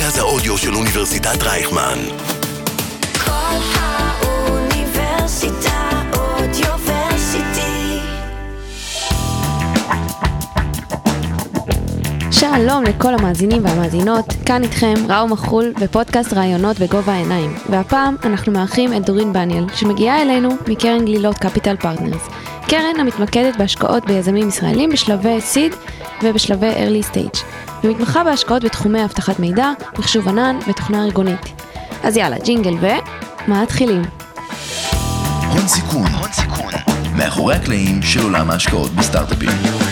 מרכז האודיו של אוניברסיטת רייכמן. כל האוניברסיטה אודיוורסיטי. שלום לכל המאזינים והמאזינות, כאן איתכם ראו מחול בפודקאסט רעיונות בגובה העיניים, והפעם אנחנו מארחים את דורין בניאל שמגיעה אלינו מקרן גלילות קפיטל פרטנרס, קרן המתמקדת בהשקעות ביזמים ישראלים בשלבי סיד ובשלבי early stage, ומתמחה בהשקעות בתחומי אבטחת מידע, מחשוב ענן ותוכנה ארגונית. אז יאללה, ג'ינגל ומה התחילים? הון סיכון, מאחורי הקלעים של עולם ההשקעות בסטארט-אפים.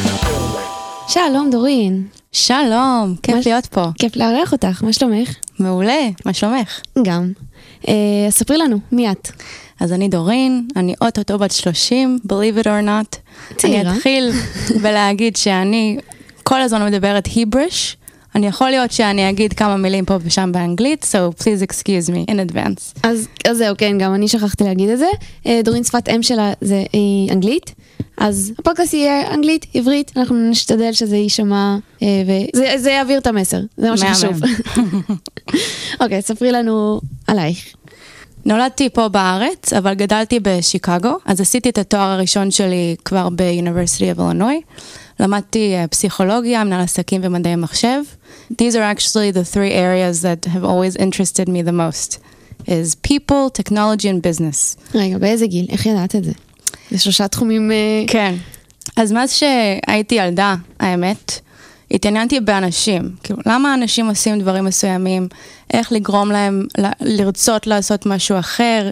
שלום דורין. שלום, כיף להיות פה. כיף לארח אותך, מה שלומך? מעולה, מה שלומך? גם. ספרי לנו, מי את? אז אני דורין, אני אוטוטו בת 30, believe it or not. צעירה. אני אתחיל בלהגיד שאני כל הזמן מדברת היבריש. אני יכול להיות שאני אגיד כמה מילים פה ושם באנגלית, so please excuse me in advance. אז זהו, כן, גם אני שכחתי להגיד את זה. דורין שפת אם שלה זה אנגלית, אז הפודקאסט יהיה אנגלית, עברית, אנחנו נשתדל שזה יישמע, וזה יעביר את המסר, זה מה שחשוב. אוקיי, ספרי לנו עלייך. נולדתי פה בארץ, אבל גדלתי בשיקגו, אז עשיתי את התואר הראשון שלי כבר ב-University of Illinois. למדתי פסיכולוגיה, מנהל עסקים ומדעי מחשב. These are actually the three areas that have always interested me the most. is people, technology and business. רגע, באיזה גיל? איך ידעת את זה? זה 3 תחומים... כן. אז מאז שהייתי ילדה, האמת, התעניינתי באנשים. כאילו, למה אנשים עושים דברים מסוימים? איך לגרום להם לרצות לעשות משהו אחר?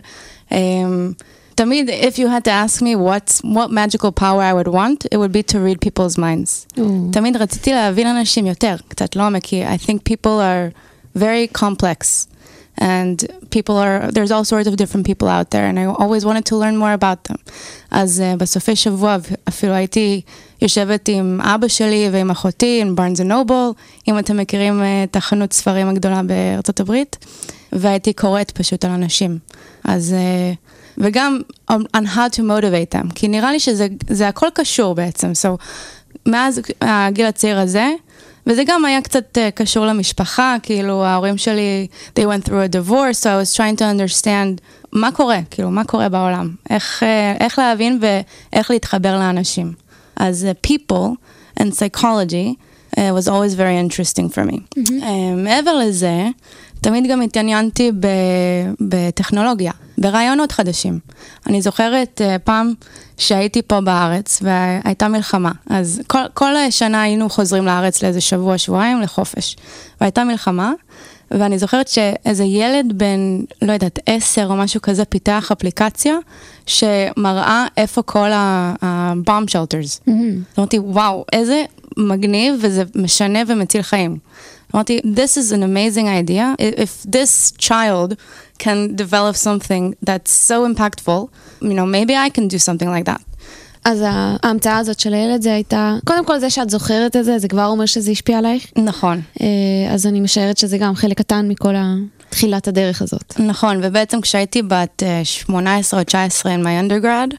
תמיד, if you had to ask me what magical power I would want, it would be to read people's minds. תמיד רציתי להבין אנשים יותר, קצת לא מכיר. I think people are very complex. And there's all sorts of different people out there, and I always wanted to learn more about them. אז בסופי שבוע אפילו הייתי יושבת עם אבא שלי ועם אחותי, עם Barnes & Noble, אם אתם מכירים את החנות ספרים הגדולה בארצות הברית, והייתי קוראת פשוט על אנשים. אז, וגם on how to motivate them, כי נראה לי שזה הכל קשור בעצם. So, מאז הגיל הצעיר הזה, וזה גם היה קצת קשור למשפחה, כאילו ההורים שלי, they went through a divorce, so I was trying to understand מה קורה, כאילו מה קורה בעולם, איך להבין ואיך להתחבר לאנשים. אז people and psychology was always very interesting for me. מעבר לזה, תמיד גם התעניינתי בטכנולוגיה, ברעיונות חדשים. אני זוכרת פעם שהייתי פה בארץ והייתה מלחמה, אז כל שנה היינו חוזרים לארץ לאיזה שבועיים לחופש, והייתה מלחמה, ואני זוכרת שאיזה ילד בן, לא יודעת, 10 או משהו כזה, פיתח אפליקציה שמראה איפה כל ה-bomb shelters. אמרתי, וואו, איזה מגניב וזה משנה ומציל חיים. אמרתי, this is an amazing idea. If this child can develop something that's so impactful, maybe I can do something like that. אז ההמצאה הזאת של הילד זה הייתה, קודם כל זה שאת זוכרת את זה, זה כבר אומר שזה השפיע עלייך? נכון. אז אני משערת שזה גם חלק קטן מכל תחילת הדרך הזאת. נכון, ובעצם כשהייתי בת 18 או 19 in my undergrad,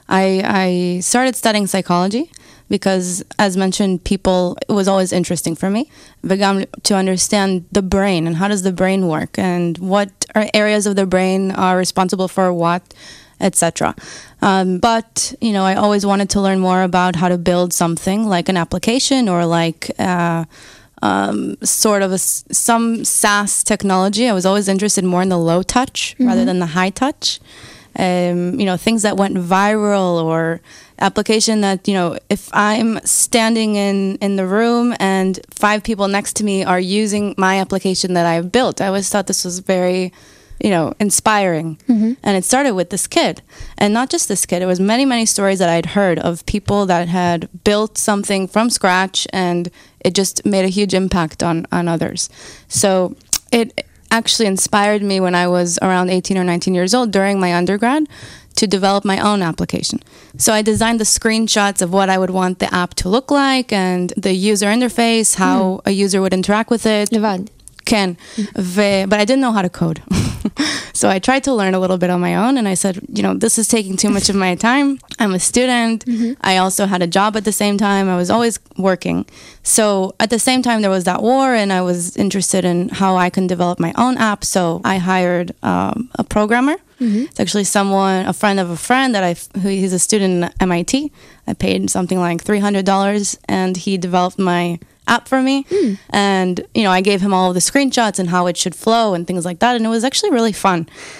I started studying psychology. Because, as mentioned, people, it was always interesting for me. וגם to understand the brain and how does the brain work and what areas of the brain are responsible for what, etc. But, I always wanted to learn more about how to build something like an application or like sort of some SaaS technology. I was always interested more in the low touch rather than the high touch. Things that went viral or application that, if I'm standing in the room and 5 people next to me are using my application that I've built, I always thought this was very, inspiring. And it started with this kid. And not just this kid, it was many, many stories that I'd heard of people that had built something from scratch and it just made a huge impact on others. So it actually inspired me when I was around 18 or 19 years old during my undergrad to develop my own application. So I designed the screenshots of what I would want the app to look like and the user interface, how a user would interact with it. לבד. כן, but I didn't know how to code. So I tried to learn a little bit on my own, and I said, this is taking too much of my time. I'm a student. I also had a job at the same time. I was always working. So at the same time, there was that war, and I was interested in how I can develop my own app. So I hired a programmer. It's actually a friend of a friend he's a student in MIT. I paid something like $300, and he developed my app for me. And, I gave him all of the screenshots and how it should flow and things like that. And it was actually really fun.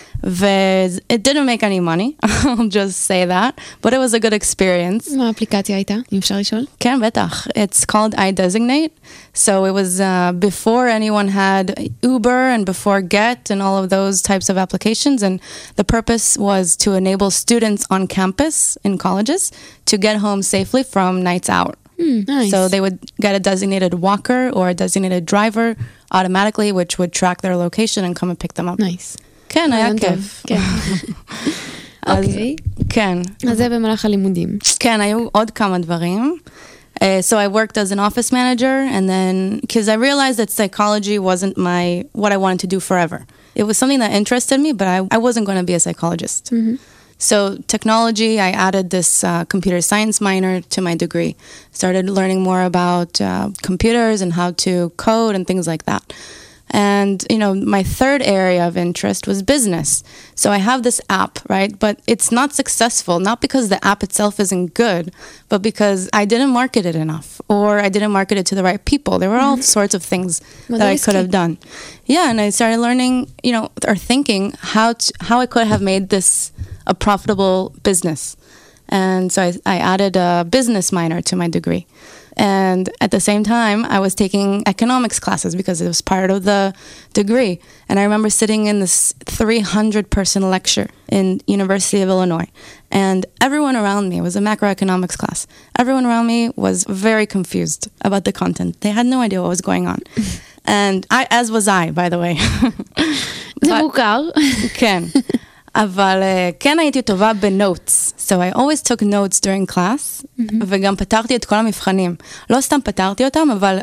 It didn't make any money, I'll just say that, but it was a good experience. מה האפליקציה הייתה? אם אפשר לשאול? כן, בטח. It's called iDesignate. So it was before anyone had Uber and before Get and all of those types of applications. And the purpose was to enable students on campus in colleges to get home safely from nights out. Nice. So they would get a designated walker or a designated driver automatically, which would track their location and come and pick them up. Nice. כן, היה רעיון טוב. כיף. כן. אוקיי. כן. אז זה במהלך הלימודים. כן, היו עוד כמה דברים. So I worked as an office manager, and then, because I realized that psychology wasn't what I wanted to do forever. It was something that interested me, but I wasn't going to be a psychologist. So technology, I added this computer science minor to my degree. Started learning more about computers and how to code and things like that. And, my third area of interest was business. So I have this app, right? But it's not successful, not because the app itself isn't good, but because I didn't market it enough, or I didn't market it to the right people. There were all sorts of things that I could have done. Yeah, and I started learning, or thinking how I could have made this a profitable business. And so I added a business minor to my degree. And at the same time, I was taking economics classes because it was part of the degree. And I remember sitting in this 300-person lecture in University of Illinois. And everyone around me, it was a macroeconomics class, everyone around me was very confused about the content. They had no idea what was going on. And as was I, by the way. זה מוכר. כן. אבל כן הייתי טובה בנוטס. So I always took notes during class, וגם פתרתי את כל המבחנים. לא סתם פתרתי אותם, אבל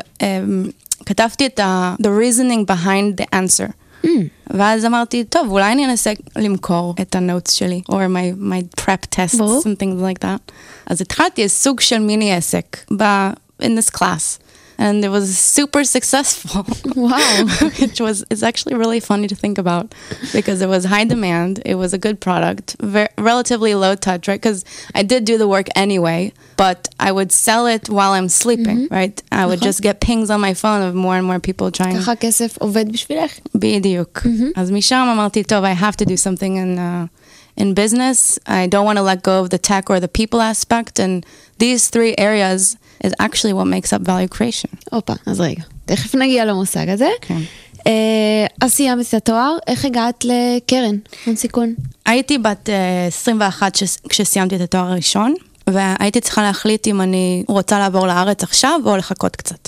כתבתי את the reasoning behind the answer. ואז אמרתי, טוב, אולי אני אנסה למכור את הנוטס שלי, or my prep tests and things like that. אז התחלתי סוג של מיני עסק in this class. And it was super successful. Wow. It's actually really funny to think about because it was high demand. It was a good product, relatively low touch, right? Because I did do the work anyway, but I would sell it while I'm sleeping, right? I would just get pings on my phone of more and more people trying. ככה כסף עובד בשבילך. בדיוק. אז משם אמרתי, טוב, I have to do something in business. I don't want to let go of the tech or the people aspect. And these three areas is actually what makes up value creation. אופה, אז רגע. תכף נגיע למושג הזה. כן. אז סיימת את התואר, איך הגעת לקרן, הון סיכון? הייתי בת 21 כשסיימתי את התואר הראשון, והייתי צריכה להחליט אם אני רוצה לעבור לארץ עכשיו או לחכות קצת.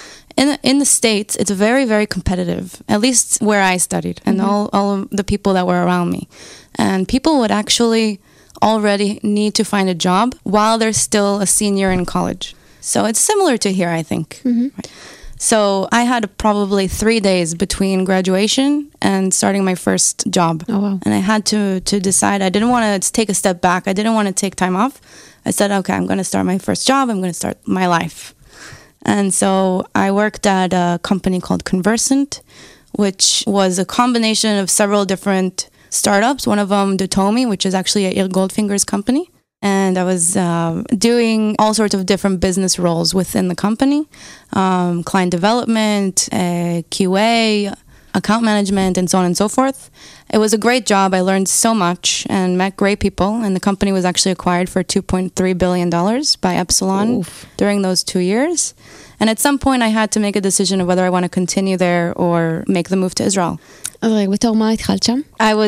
In the States, it's very, very competitive, at least where I studied, and all of the people that were around me. And people would actually already need to find a job while they're still a senior in college. So it's similar to here, I think. Right. So I had probably 3 days between graduation and starting my first job. Oh, wow. And I had to decide. I didn't want to take a step back. I didn't want to take time off. I said, okay, I'm going to start my first job. I'm going to start my life. And so I worked at a company called Conversant, which was a combination of several different startups. One of them, Dotomi, which is actually a Ir Goldfinger's company. And I was doing all sorts of different business roles within the company, client development, QA, account management, and so on and so forth. It was a great job. I learned so much and met great people. And the company was actually acquired for $2.3 billion by Epsilon during those 2 years. And at some point I had to make a decision of whether I want to continue there or make the move to Israel. אז רגע, בתור מה התחלת שם?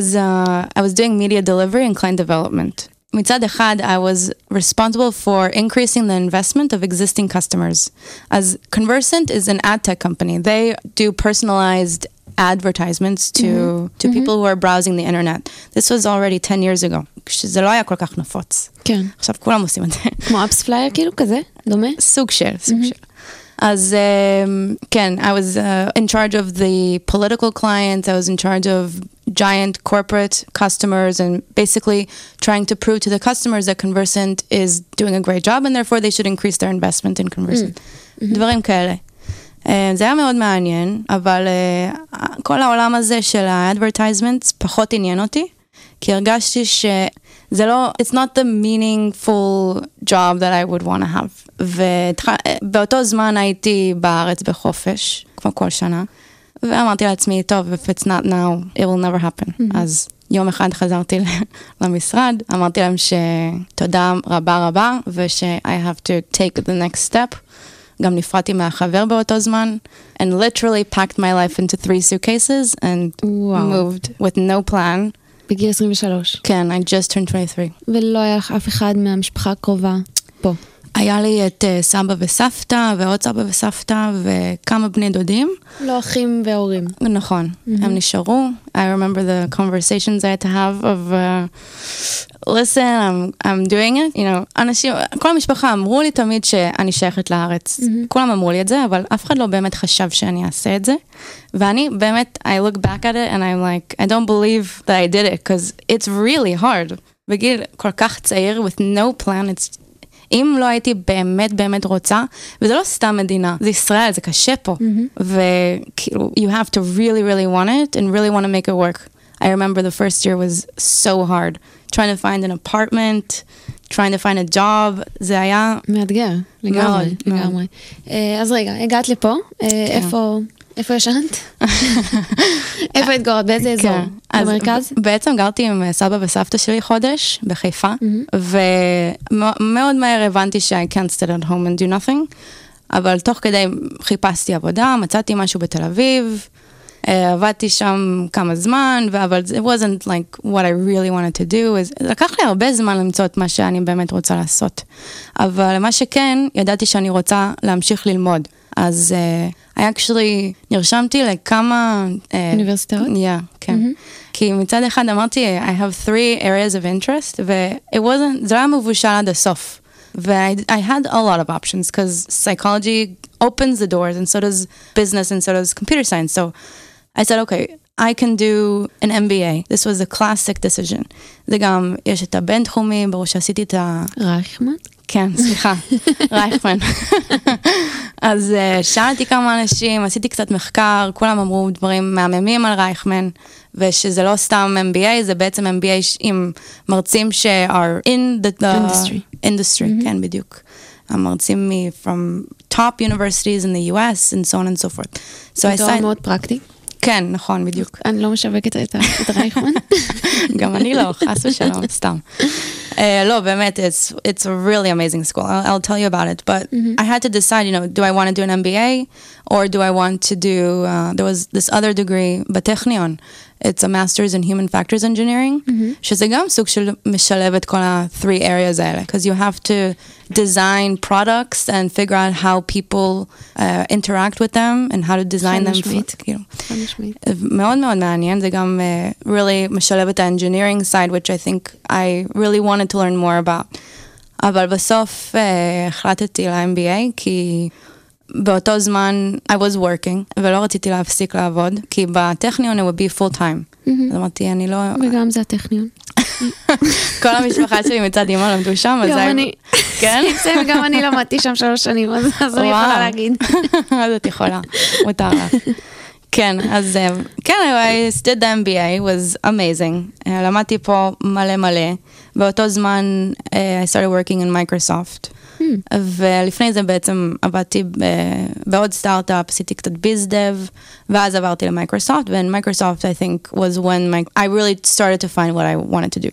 I was doing media delivery and client development. מצד אחד, I was responsible for increasing the investment of existing customers. As Conversant is an ad tech company. They do personalized advertisements to people who are browsing the internet. This was already 10 years ago. שזה לא היה כל כך נפוץ. כן. עכשיו כולם עושים את זה. כמו אפס פלייר כאילו כזה? דומה? סוג של. אז כן, I was in charge of the political clients. I was in charge of giant corporate customers and basically trying to prove to the customers that Conversant is doing a great job and therefore they should increase their investment in Conversant. דברים כאלה. זה היה מאוד מעניין, אבל כל העולם הזה של ה-advertisements פחות עניין אותי, כי הרגשתי שזה לא, it's not the meaningful job that I would want to have. ובאותו זמן הייתי בארץ בחופש, כמו כל שנה, ואמרתי לעצמי, טוב, if it's not now, it will never happen. אז יום אחד חזרתי למשרד, אמרתי להם שתודה רבה רבה, וש- I have to take the next step. גם נפרדתי מהחבר באותו זמן, and literally packed my life into 3 suitcases and moved with no plan. בגיל 23. כן, I just turned 23. ולא היה לך אף אחד מהמשפחה הקרובה פה. היה לי את סבא וסבתא, ועוד סבא וסבתא, וכמה בני דודים. לא אחים והורים. נכון, הם נשארו. I remember the conversations I had to have of, listen, I'm doing it. You know, אנשים, כל המשפחה אמרו לי תמיד שאני שייכת לארץ. כולם אמרו לי את זה, אבל אף אחד לא באמת חשב שאני אעשה את זה. ואני באמת, I look back at it and I'm like, I don't believe that I did it, because it's really hard. בגיל כל כך צעיר, with no plan, it's... אם לא הייתי באמת באמת רוצה, וזה לא סתם מדינה, זה ישראל, זה קשה פה. וכאילו, you have to really, really want it, and really want to make it work. I remember the first year was so hard. Trying to find an apartment, trying to find a job, זה היה... מאתגר, לגמרי, לגמרי. אז רגע, הגעת לפה, איפה ישנת? איפה התגורת? באיזה אזור? במרכז? בעצם גרתי עם סבא וסבתא שלי חודש בחיפה, ומאוד מהר הבנתי ש I can't stay at home and do nothing, אבל תוך כדי חיפשתי עבודה, מצאתי משהו בתל אביב, עבדתי שם כמה זמן, אבל it wasn't like what I really wanted to do. לקח לי הרבה זמן למצוא את מה שאני באמת רוצה לעשות. אבל מה שכן, ידעתי שאני רוצה להמשיך ללמוד. אז I actually נרשמתי לכמה... אוניברסיטאות? Yeah, כן. כי מצד אחד אמרתי, I have 3 areas of interest, זה לא היה מבושל עד הסוף. I had a lot of options, because psychology opens the doors, and so does business, and so does computer science. So I said, okay, I can do an MBA. This was a classic decision. זה גם, יש את הבינתחומי, ברור שעשיתי את ה... רייכמן? כן, סליחה, רייכמן. אז שאלתי כמה אנשים, עשיתי קצת מחקר, כולם אמרו דברים מהממים על רייכמן, ושזה לא סתם MBA, זה בעצם MBA עם מרצים are in the industry, כן, בדיוק. המרצים from top universities in the US, and so on and so forth. זה תואר מאוד פרקטי. כן, נכון, בדיוק. אני לא משווקת את רייכמן. גם אני לא, חס ושלום, סתם. לא, באמת, it's a really amazing school. I'll tell you about it. But I had to decide, you know, do I want to do an MBA or do I want to do, there was this other degree, בטכניון. It's a master's in human factors engineering, שזה גם סוג של משלב את כל ה-3 areas האלה. Because you have to design products and figure out how people interact with them and how to design them. מאוד מאוד מעניין, זה גם really משלב את ה-engineering side, which I think I really wanted to learn more about. אבל בסוף החלטתי ל-MBA, כי באותו זמן I was working, ולא רציתי להפסיק לעבוד, כי בטכניון it would be full time. אז אמרתי, אני לא... וגם זה הטכניון. כל המשפחה שלי מצד אמא למדו שם, אז... גם אני. כן? וגם אני למדתי שם 3 שנים, אז אני יכולה להגיד. אז את יכולה, מותר לך. כן, אז כן, I did the MBA, was amazing. למדתי פה מלא מלא. באותו זמן I started working in Microsoft. ולפני זה בעצם עבדתי בעוד סטארט-אפ, עשיתי קצת ביזדב, ואז עברתי למייקרוסופט, and Microsoft I think was when I really started to find what I wanted to do.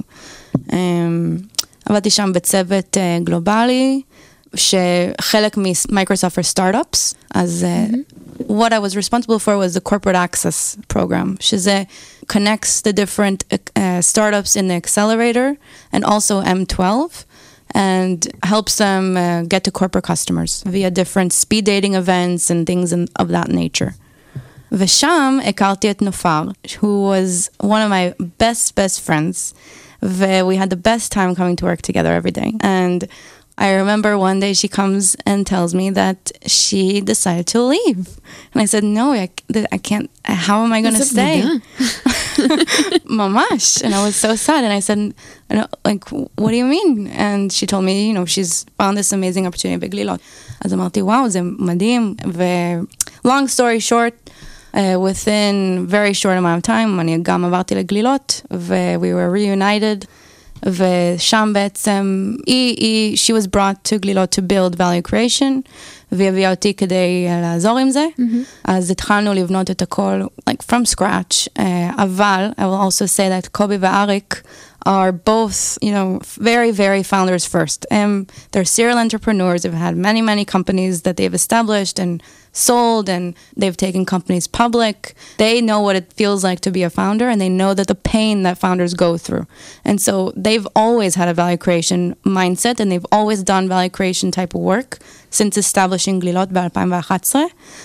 עבדתי שם בצוות גלובלי, שחלק ממייקרוסופט are startups, אז what I was responsible for was the corporate access program, שזה connects the different startups in the accelerator, and also M12, and helps them get to corporate customers via different speed dating events and things of that nature. ושם הכרתי את נופר, who was one of my best friends. We had the best time coming to work together every day. And I remember one day she comes and tells me that she decided to leave. And I said, no, I can't. How am I going to stay? Mamash. And I was so sad. And I said, like, what do you mean? And she told me, she's found this amazing opportunity בגלילות. אז אמרתי, וואו, זה מדהים. Long story short, within very short amount of time, אני גם עברתי לגלילות, we were reunited, ושם בעצם, she was brought to גלילות to build value creation, והיא הביאה אותי כדי לעזור עם זה, אז התחלנו לבנות את הכל, like from scratch, אבל, I will also say that קובי ואריק are both, very, very founders first. They're serial entrepreneurs. They've had many, many companies that they've established and sold, and they've taken companies public. They know what it feels like to be a founder, and they know that the pain that founders go through. And so they've always had a value creation mindset, and they've always done value creation type of work since establishing גלילות ב-2011.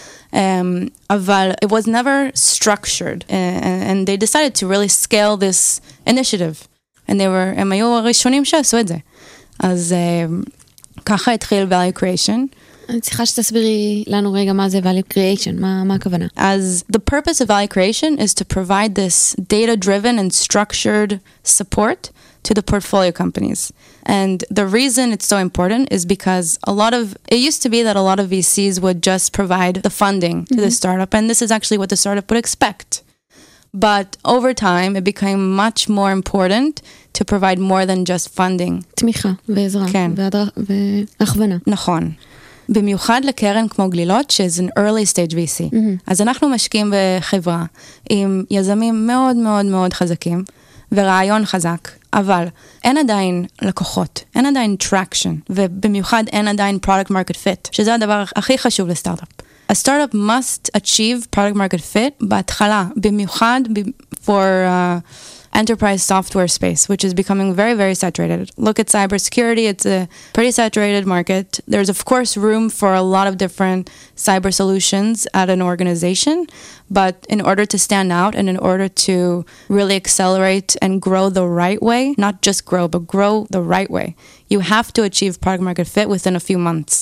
אבל it was never structured, and they decided to really scale this initiative. הם היו הראשונים שעשו את זה. אז ככה התחיל value creation. אני צריכה שתסבירי לנו רגע מה זה value creation, מה הכוונה? As the purpose of value creation is to provide this data-driven and structured support to the portfolio companies. And the reason it's so important is because it used to be that a lot of VCs would just provide the funding to the startup, and this is actually what the startup would expect. But over time, it became much more important to provide more than just funding. תמיכה ועזרה. כן. והכוונה. נכון. במיוחד לקרן כמו גלילות, שזה an early stage VC. אז אנחנו משקיעים בחברה עם יזמים מאוד מאוד מאוד חזקים, ורעיון חזק, אבל אין עדיין לקוחות, אין עדיין traction, ובמיוחד אין עדיין product market fit, שזה הדבר הכי חשוב לסטארט-אפ. A startup must achieve product market fit בהתחלה, במיוחד for enterprise software space, which is becoming very, very saturated. Look at cybersecurity, it's a pretty saturated market. There's of course room for a lot of different cyber solutions at an organization, but in order to stand out and in order to really accelerate and grow the right way, not just grow, but grow the right way, you have to achieve product market fit within a few months.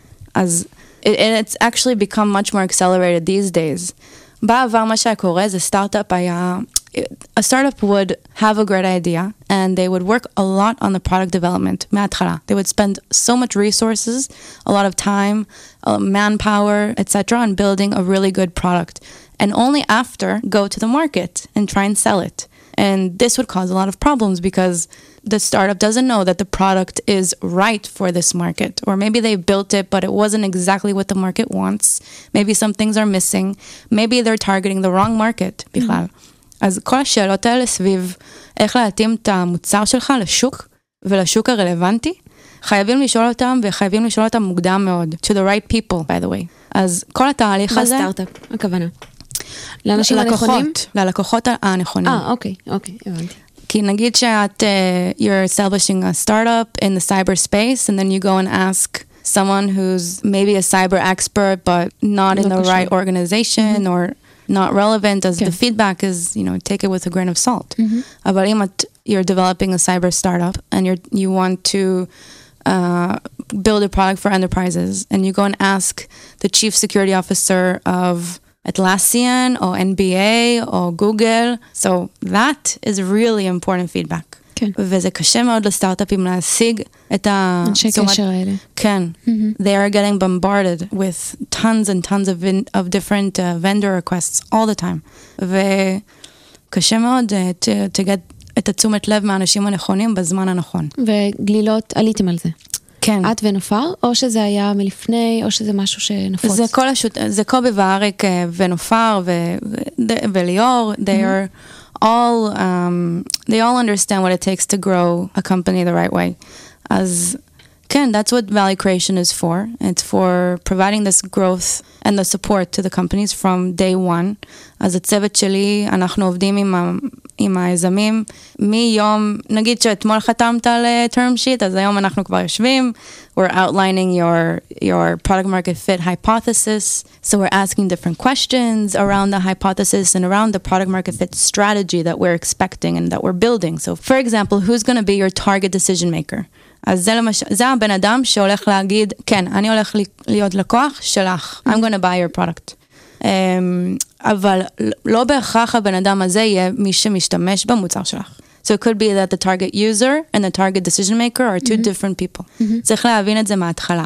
And it's actually become much more accelerated these days. בעבר מה שקורה זה סטארט-אפ היה, a startup would have a great idea and they would work a lot on the product development מההתחלה. They would spend so much resources, a lot of time, manpower, etc. on building a really good product. And only after go to the market and try and sell it. And this would cause a lot of problems because the startup doesn't know that the product is right for this market. Or maybe they built it, but it wasn't exactly what the market wants. Maybe some things are missing. Maybe they're targeting the wrong market בכלל. אז כל השאלות האלה סביב איך להתאים את המוצר שלך לשוק ולשוק הרלוונטי, חייבים לשאול אותם וחייבים לשאול אותם מוקדם מאוד. To the right people, by the way. אז כל התהליך הזה... בסטארט-אפ, הכוונה. לאנשים הנכונים? ללקוחות הנכונים. אוקיי, הבנתי. כי נגיד שאת, you're establishing a startup in the cyberspace, and then you go and ask someone who's maybe a cyber expert, but not in the right organization, or not relevant, as the feedback is, take it with a grain of salt. אבל אם you're developing a cyber startup, and you want to build a product for enterprises, and you go and ask the chief security officer of Atlassian or NBA or Google. So that is really important feedback. כן. וזה קשה מאוד לסטארט-אפים להשיג את אנשי קשר האלה. כן. They are getting bombarded with tons and tons of different vendor requests all the time. וקשה מאוד to get את התשומת לב מהאנשים הנכונים בזמן הנכון. וגלילות, עליתם על זה. כן. את ונופר, או שזה היה מלפני, או שזה משהו שנפוץ? זה קובי ואריק ונופר וליאור, they are all, they all understand what it takes to grow a company the right way. אז כן, that's what value creation is for. It's for providing this growth and the support to the companies from day one. אז הצוות שלי, אנחנו עובדים עם היזמים, מיום, נגיד שאתמול חתמת על term sheet, אז היום אנחנו כבר יושבים, we're outlining your product market fit hypothesis, so we're asking different questions around the hypothesis and around the product market fit strategy that we're expecting and that we're building. So for example, who's going to be your target decision maker? אז זה הבן אדם שהולך להגיד, כן, אני הולך להיות לקוח שלך, I'm going to buy your product. אבל לא בהכרח הבן אדם הזה יהיה מי שמשתמש במוצר שלך. So it could be that the target user and the target decision maker are two different people. צריך להבין את זה מההתחלה.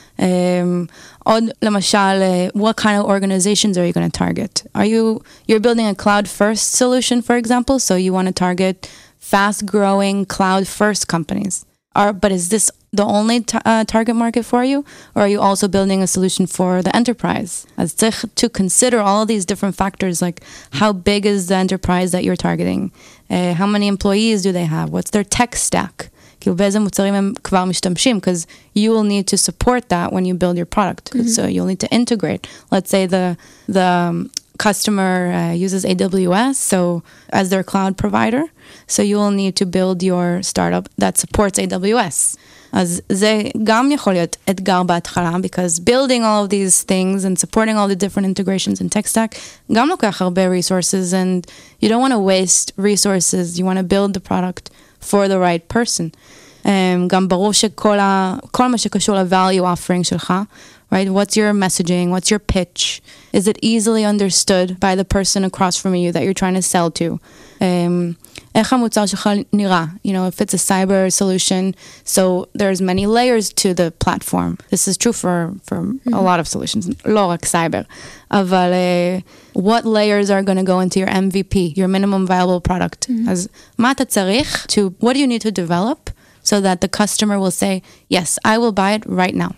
עוד למשל, what kind of organizations are you going to target? You're building a cloud-first solution, for example, so you want to target fast-growing cloud-first companies. But is this the only target market for you? Or are you also building a solution for the enterprise? As to consider all of these different factors, like how big is the enterprise that you're targeting? How many employees do they have? What's their tech stack? כאילו באיזה מוצרים הם כבר משתמשים, because you will need to support that when you build your product. So you'll need to integrate. Let's say the customer uses AWS, so as their cloud provider, so you will need to build your startup that supports AWS. אז זה גם יכול להיות אתגר בהתחלה, because building all of these things and supporting all the different integrations in tech stack, גם לוקח הרבה resources, and you don't want to waste resources, you want to build the product for the right person. גם ברור שכל מה שקשור ל-value offering שלך, right? What's your messaging? What's your pitch? Is it easily understood by the person across from you that you're trying to sell to? איך המוצר שלך נראה? You know, if it's a cyber solution, so there's many layers to the platform. This is true for a lot of solutions, לא רק cyber. אבל what layers are going to go into your MVP, your minimum viable product? אז מה אתה צריך what do you need to develop so that the customer will say, yes, I will buy it right now.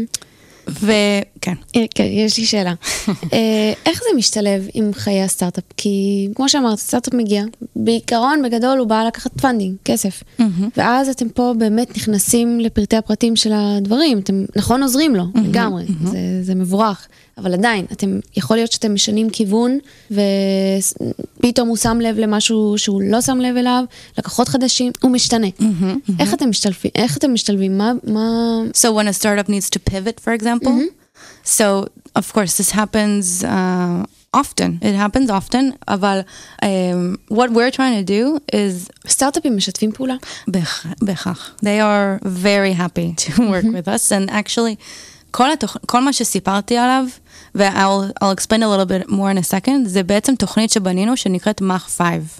וכן. כן, יש לי שאלה. איך זה משתלב עם חיי הסטארט-אפ? כי כמו שאמרת, סטארט-אפ מגיע, בעיקרון, בגדול, הוא בא לקחת פנדינג, כסף. ואז אתם פה באמת נכנסים לפרטי הפרטים של הדברים. אתם נכון עוזרים לו, לגמרי. זה מבורך. אבל עדיין, יכול להיות שאתם משנים כיוון, ופתאום הוא שם לב למשהו שהוא לא שם לב אליו, לקוחות חדשים, הוא משתנה. איך אתם משתלבים? So when a startup needs to pivot, for example, so of course this happens often. It happens often, אבל what we're trying to do is... סטארט-אפים משתפים פעולה? בהכרח. They are very happy to work with us, and actually... כל מה שסיפרתי עליו, I'll explain a little bit more in a second, זה בעצם תוכנית שבנינו שנקראת Mach 5.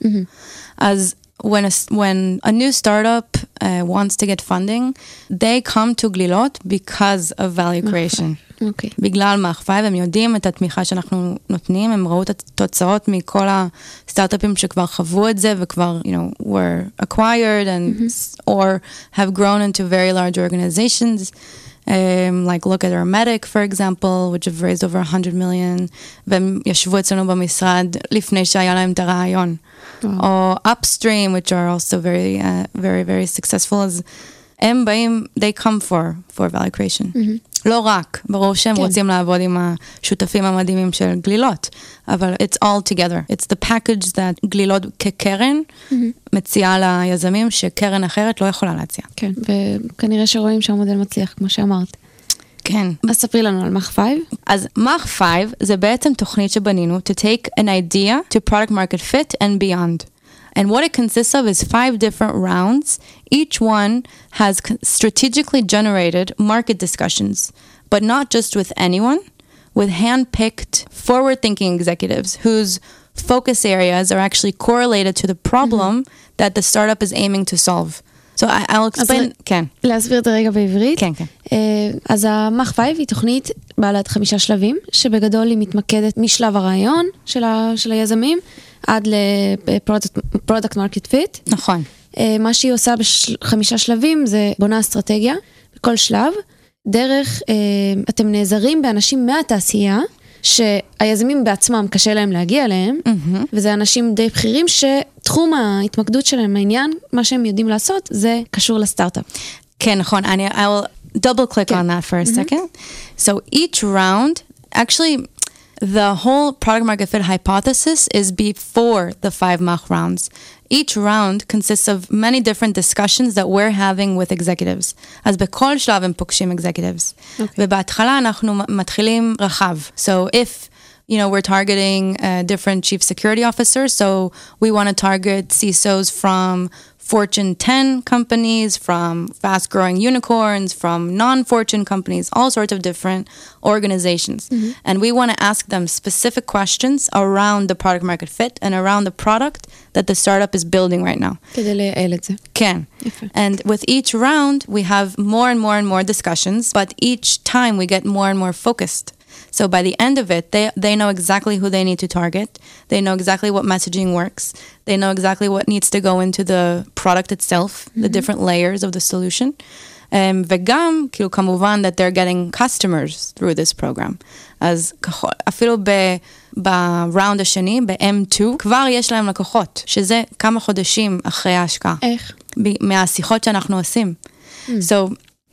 אז when a new startup wants to get funding, they come to גלילות because of value creation. בגלל Mach 5, הם יודעים את התמיכה שאנחנו נותנים, הם ראו את התוצאות מכל הסטארט-אפים שכבר חוו את זה, וכבר, were acquired or have grown into very large organizations. Like look at Hermetic, for example, which have raised over 100 million, והם ישבו אצלנו במשרד לפני שהיה להם את הרעיון. או Upstream, which are also very, very, very successful, אז הם באים, they come for value creation. לא רק, ברור שהם רוצים לעבוד עם השותפים המדהימים של גלילות, אבל it's all together. It's the package that גלילות כקרן מציעה ליזמים שקרן אחרת לא יכולה להציע. כן, וכנראה שרואים שהמודל מצליח, כמו שאמרת. כן. אז ספרי לנו על Mach 5. אז Mach 5 זה בעצם תוכנית שבנינו to take an idea to product market fit and beyond. And what it consists of is 5 different rounds. Each one has strategically generated market discussions, but not just with anyone, with hand-picked, forward-thinking executives whose focus areas are actually correlated to the problem that the startup is aiming to solve. So I'll explain, כן. להסביר את הרגע בעברית. כן, כן. אז ה-Mach 5 היא תוכנית בעלת 5 שלבים, שבגדול היא מתמקדת משלב הרעיון של היזמים, עד ל-product market fit. נכון. מה שהיא עושה ב5 שלבים זה בונה אסטרטגיה, בכל שלב, דרך, אתם נעזרים באנשים מהתעשייה, שהיזמים בעצמם קשה להם להגיע אליהם, וזה אנשים די בכירים שתחום ההתמקדות שלהם, העניין, מה שהם יודעים לעשות, זה קשור לסטארט-אפ. כן, נכון. I will double click on that for a second. So each round, actually, the whole product market fit hypothesis is before the 5 Mach rounds. Each round consists of many different discussions that we're having with executives. אז בכל שלב הם פוגשים executives. ובהתחלה אנחנו מתחילים רחב. So if we're targeting different chief security officers, so we want to target CISOs from Fortune 10 companies, from fast-growing unicorns, from non-Fortune companies, all sorts of different organizations. And we want to ask them specific questions around the product market fit and around the product that the startup is building right now. כדי לייעל את זה. Can. And with each round, we have more and more and more discussions, but each time we get more and more focused. So by the end of it, they know exactly who they need to target. They know exactly what messaging works. They know exactly what needs to go into the product itself, the different layers of the solution. וגם, כאילו, כמובן that they're getting customers through this program. אז אפילו בראונד השני, ב-M2, כבר יש להם לקוחות, שזה כמה חודשים אחרי ההשקעה. איך? מהשיחות שאנחנו עושים. So,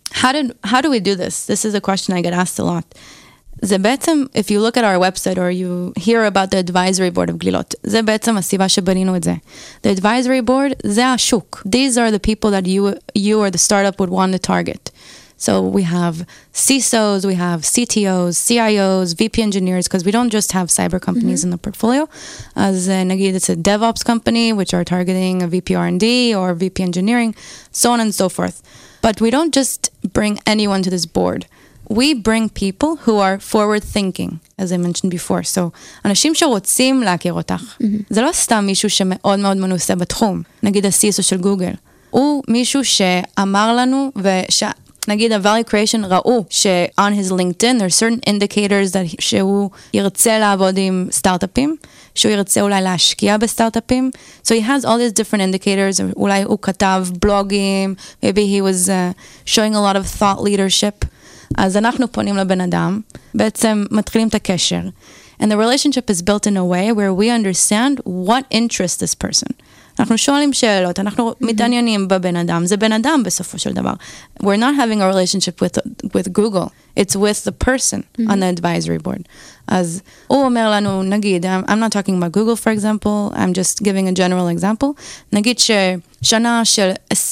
how do we do this? This is a question I get asked a lot. זה בעצם, if you look at our website or you hear about the advisory board of גלילות, זה בעצם הסיבה שבנינו את זה. The advisory board, זה השוק. These are the people that you or the startup would want to target. So we have CISOs, we have CTOs, CIOs, VP engineers, because we don't just have cyber companies in the portfolio. As נגיד, it's a DevOps company, which are targeting a VP R&D or VP engineering, so on and so forth. But we don't just bring anyone to this board. We bring people who are forward thinking, as I mentioned before. So, אנשים שרוצים להכיר אותך. זה לא סתם מישהו שמאוד מאוד מנוסה בתחום. נגיד ה-CISO של גוגל. הוא מישהו שאמר לנו, נגיד ה-Value Creation ראו ש-on his LinkedIn, there are certain indicators that שהוא ירצה לעבוד עם סטארט-אפים, שהוא ירצה אולי להשקיע בסטארט-אפים. So he has all these different indicators, אולי הוא כתב בלוגים, maybe he was showing a lot of thought leadership. אז אנחנו פונים לבן אדם, בעצם מתחילים את הקשר. And the relationship is built in a way where we understand what interests this person. אנחנו שואלים שאלות, אנחנו מתעניינים בבן אדם, זה בן אדם בסופו של דבר. We're not having a relationship with Google, it's with the person on the advisory board. אז הוא אומר לנו, נגיד, I'm not talking about Google for example, I'm just giving a general example, נגיד ששנה של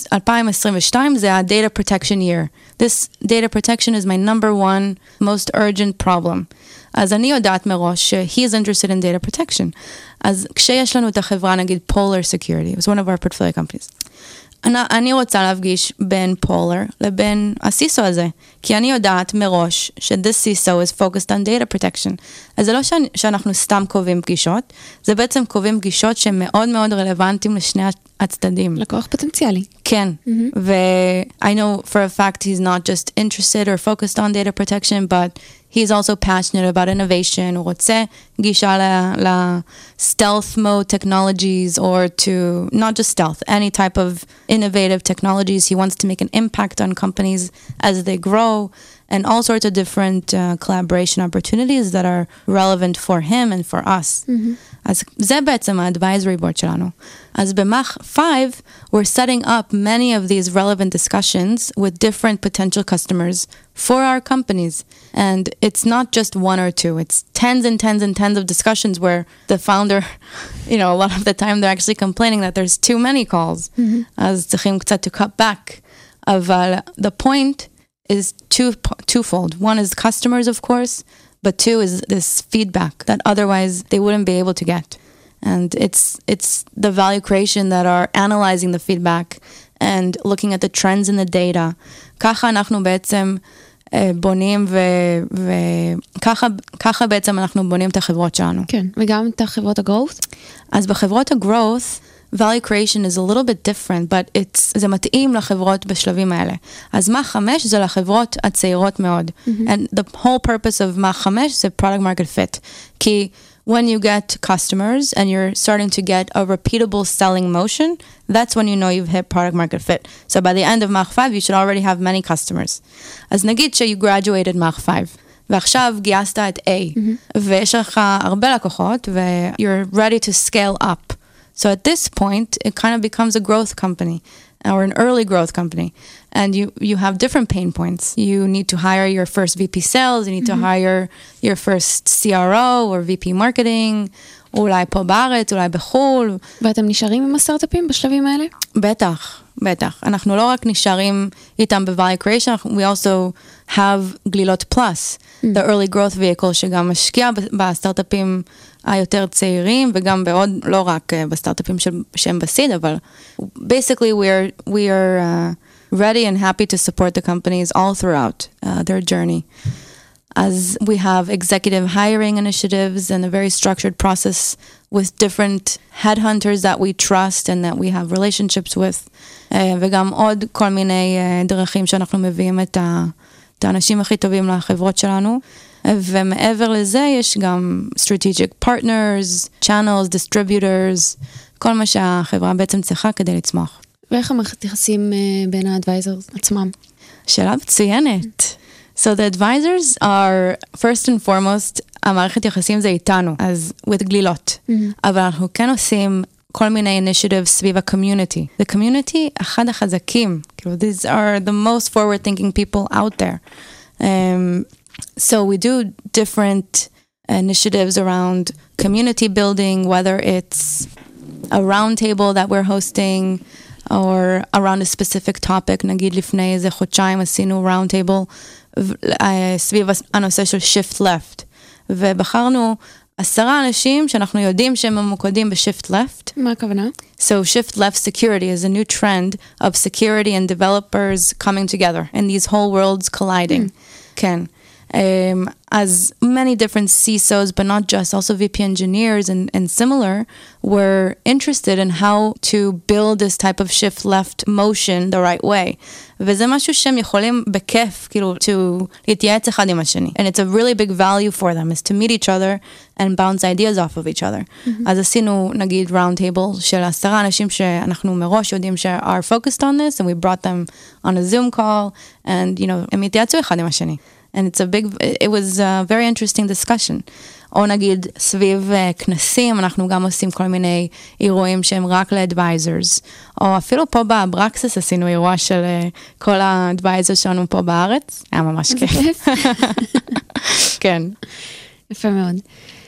2022 זה ה-data protection year. This data protection is my number one most urgent problem. אז אני יודעת מראש he is interested in data protection. אז כשיש לנו את החברה, נגיד Polar Security, it was one of our portfolio companies. אני רוצה להפגיש בין Polar לבין ה-CISO הזה, כי אני יודעת מראש ש-this CISO is focused on data protection. אז זה לא שאנחנו סתם קובעים פגישות, זה בעצם קובעים פגישות שהן מאוד מאוד רלוונטיים לשני הצדדים. לקוח פוטנציאלי. כן, ו-I know for a fact he's not just interested or focused on data protection, but he's also passionate about innovation, הוא רוצה גישה ל-stealth mode technologies, or to, not just stealth, any type of innovative technologies. He wants to make an impact on companies as they grow, and all sorts of different collaboration opportunities that are relevant for him and for us. אז זה בעצם ה-advisory board שלנו. אז במח 5, we're setting up many of these relevant discussions with different potential customers for our companies. And it's not just one or two, it's tens and tens and tens of discussions where the founder, you know, a lot of the time they're actually complaining that there's too many calls. אז צריכים קצת to cut back. אבל the point is twofold. One is customers, of course, but two is this feedback that otherwise they wouldn't be able to get. And it's the value creation that are analyzing the feedback and looking at the trends in the data. ככה אנחנו בעצם בונים וככה בעצם אנחנו בונים את החברות שלנו. כן, וגם את החברות הגרוס? אז בחברות הגרוס, value creation is a little bit different, but זה מתאים לחברות בשלבים האלה. אז מה 5 זה לחברות הצעירות מאוד. And the whole purpose of מה 5 זה product market fit. כי when you get customers and you're starting to get a repeatable selling motion, that's when you know you've hit product market fit. So by the end of Mach 5, you should already have many customers. אז נגיד you graduated Mach 5, ועכשיו גייסת את A, ויש לך הרבה לקוחות, you're ready to scale up. So at this point, it kind of becomes a growth company, or an early growth company. And you have different pain points. You need to hire your first VP sales, you need to hire your first CRO or VP marketing, אולי פה בארץ, אולי בחול. ואתם נשארים עם הסטארט-אפים בשלבים האלה? בטח, בטח. אנחנו לא רק נשארים איתם ב-Value Creation, we also have גלילות Plus, the early growth vehicle, שגם משקיע בסטארט-אפים היותר צעירים, וגם בעוד, לא רק בסטארט-אפים שהם בסיד, אבל basically we are ready and happy to support the companies all throughout their journey. As we have executive hiring initiatives and a very structured process with different headhunters that we trust and that we have relationships with, וגם עוד כל מיני דרכים שאנחנו מביאים את האנשים הכי טובים לחברות שלנו, ומעבר לזה יש גם strategic partners, channels, distributors, כל מה שהחברה בעצם צריכה כדי לצמוח. ואיך המערכת יחסים בין האדוויזרס עצמם? שאלה מצוינת. So the advisors are, first and foremost, המערכת יחסים זה איתנו, אז with גלילות. אבל אנחנו כן עושים כל מיני initiatives סביב ה-community. The community, אחד החזקים. These are the most forward-thinking people out there. So we do different initiatives around community building, whether it's a round table that we're hosting, or around a specific topic. נגיד לפני איזה חודשיים עשינו round table, סביב הנושא של shift left. ובחרנו 10 אנשים שאנחנו יודעים שהם ממוקדים ב-shift left. מה הכוונה? So shift left security is a new trend of security and developers coming together and these whole worlds colliding. כן. As many different CISOs, but not just, also VP engineers and similar, were interested in how to build this type of shift left motion the right way. וזה משהו שהם יכולים בכיף, כאילו, to להתייעץ אחד עם השני. And it's a really big value for them, is to meet each other and bounce ideas off of each other. אז עשינו, נגיד, round table של 10 אנשים שאנחנו מראש יודעים are focused on this, and we brought them on a Zoom call, and, you know, הם התייעצו אחד עם השני. And it was a very interesting discussion. או נגיד, סביב כנסים, אנחנו גם עושים כל מיני אירועים שהם רק ל-advisors. או אפילו פה בברקסס עשינו אירוע של כל ה-advisors שלנו פה בארץ. היה ממש כיף. כן. יפה מאוד.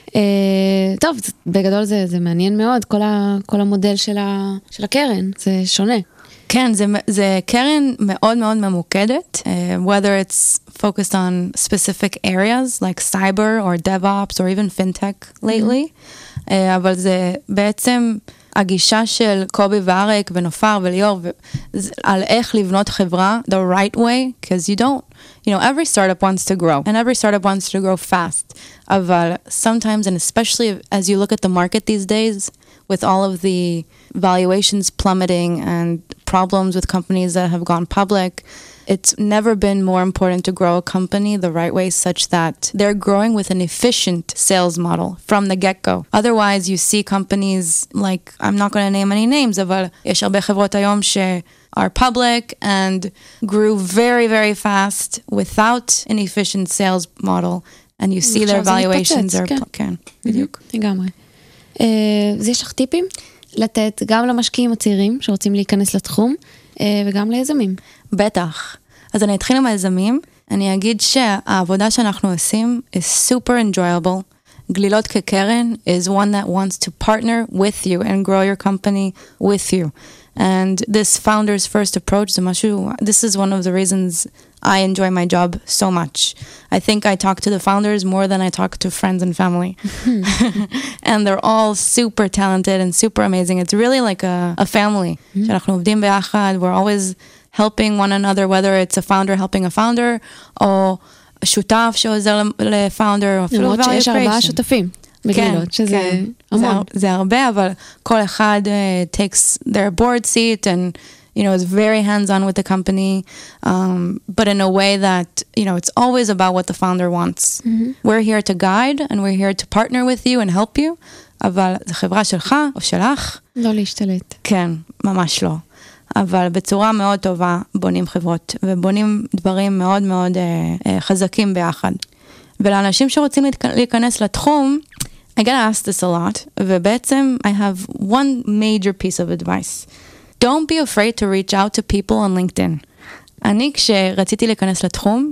טוב, בגדול זה מעניין מאוד, כל המודל של הקרן, זה שונה. כן, זה קרן מאוד מאוד ממוקדת, whether it's focused on specific areas like cyber or DevOps or even fintech lately, אבל זה בעצם הגישה של קובי ואריק ונופר וליאור על איך לבנות חברה the right way, because you know, every startup wants to grow and every startup wants to grow fast, אבל sometimes, and especially as you look at the market these days, with all of the valuations plummeting and problems with companies that have gone public, it's never been more important to grow a company the right way such that they're growing with an efficient sales model from the get-go. Otherwise, you see companies like, I'm not going to name any names, אבל יש הרבה חברות היום are public and grew very, very fast without an efficient sales model, and you see their valuations are... כן, בדיוק. לגמרי. אז יש לך טיפים לתת גם למשקיעים הצעירים שרוצים להיכנס לתחום, וגם ליזמים. בטח. אז אני אתחיל עם היזמים. אני אגיד שהעבודה שאנחנו עושים is super enjoyable. גלילות כקרן is one that wants to partner with you and grow your company with you. And this founder's first approach, this is one of the reasons I enjoy my job so much. I think I talk to the founders more than I talk to friends and family. And they're all super talented and super amazing. It's really like a family. שאנחנו עובדים ביחד, we're always helping one another, whether it's a founder helping a founder, או שותף שעוזר לפאונדר, או אפילו value creation. למרות שיש 4 שותפים. בגלילות, שזה המון. זה הרבה, אבל כל אחד takes their board seat and, you know, is very hands-on with the company, but in a way that, you know, it's always about what the founder wants. We're here to guide, and we're here to partner with you and help you, אבל זו חברה שלך או שלך. לא להשתלט. כן, ממש לא. אבל בצורה מאוד טובה בונים חברות, ובונים דברים מאוד מאוד חזקים ביחד. ולאנשים שרוצים להיכנס לתחום, I get asked this a lot, ובעצם I have one major piece of advice. Don't be afraid to reach out to people on LinkedIn. אני כשרציתי להיכנס לתחום,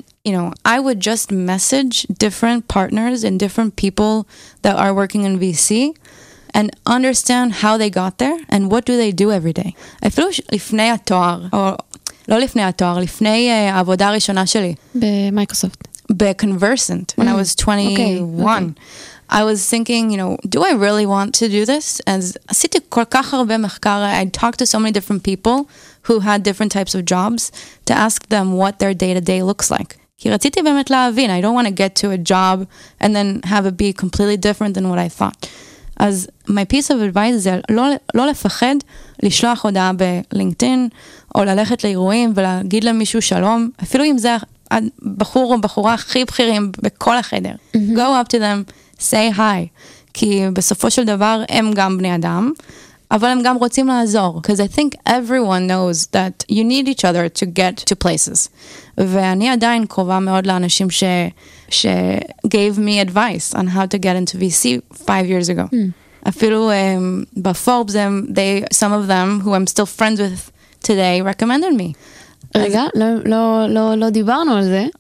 I would just message different partners and different people that are working in VC, and understand how they got there and what do they do every day. אפילו לפני התואר, או לא לפני התואר, לפני העבודה הראשונה שלי. במייקרוסופט. Conversant when I was 21. I was thinking, do I really want to do this? And עשיתי כל כך הרבה מחקר. I talked to so many different people who had different types of jobs to ask them what their day-to-day looks like. כי רציתי באמת להבין. I don't want to get to a job and then have it be completely different than what I thought. אז my piece of advice זה לא לפחד לשלוח הודעה בלינקדאין, או ללכת לאירועים ולהגיד למישהו שלום, אפילו אם זה בחור או בחורה הכי בכירים בכל החדר. Go up to them, say hi. כי בסופו של דבר הם גם בני אדם, אבל הם גם רוצים לעזור. Because I think everyone knows that you need each other to get to places. ואני עדיין קרובה מאוד לאנשים gave me advice on how to get into VC 5 years ago. אפילו בפורבס, some of them who I'm still friends with today recommended me. רגע, לא דיברנו על זה.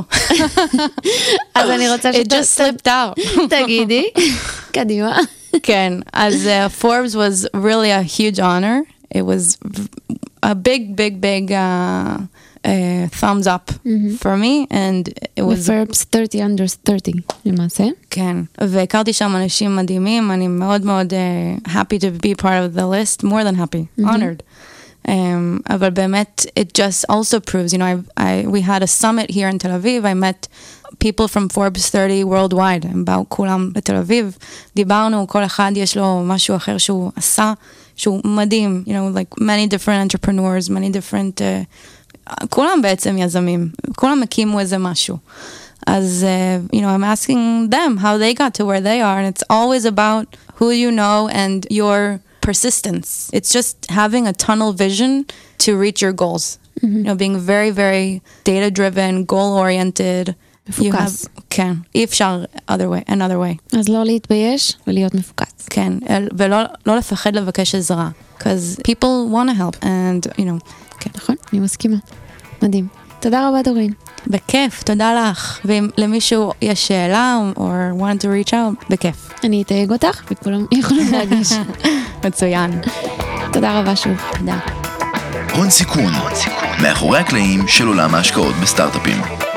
אז אני רוצה It just slipped out. תגידי, קדימה. כן, אז Forbes was really a huge honor. It was a big thumbs up for me, and it was... Forbes 30 under 30, למעשה. כן, והכרתי שם אנשים מדהימים, אני מאוד מאוד happy to be part of the list, more than happy, honored. אבל באמת, it just also proves, we had a summit here in Tel Aviv, I met people from Forbes 30 worldwide, הם באו כולם לתל אביב, דיברנו, כל אחד יש לו משהו אחר שהוא עשה, שהוא מדהים, like many different entrepreneurs, many different, כולם בעצם יזמים, כולם הקימו איזה משהו. אז, I'm asking them how they got to where they are, and it's always about who you know and your persistence. It's just having a tunnel vision to reach your goals. Being very, very data-driven, goal-oriented. מפוקס. כן, אי אפשר another way. אז לא להתבייש ולהיות מפוקס. כן, ולא לפחד לבקש עזרה. Because people want to help, and, כן. נכון, אני מסכימה. מדהים. תודה רבה, דורין. בכיף, תודה לך. ואם למישהו יש שאלה, or want to reach out, בכיף. אני אתייג אותך, וכולם יכולים להגיש. מצוין. תודה רבה שוב. תודה. הון סיכון, מאחורי הקלעים של עולם ההשקעות בסטארט-אפים.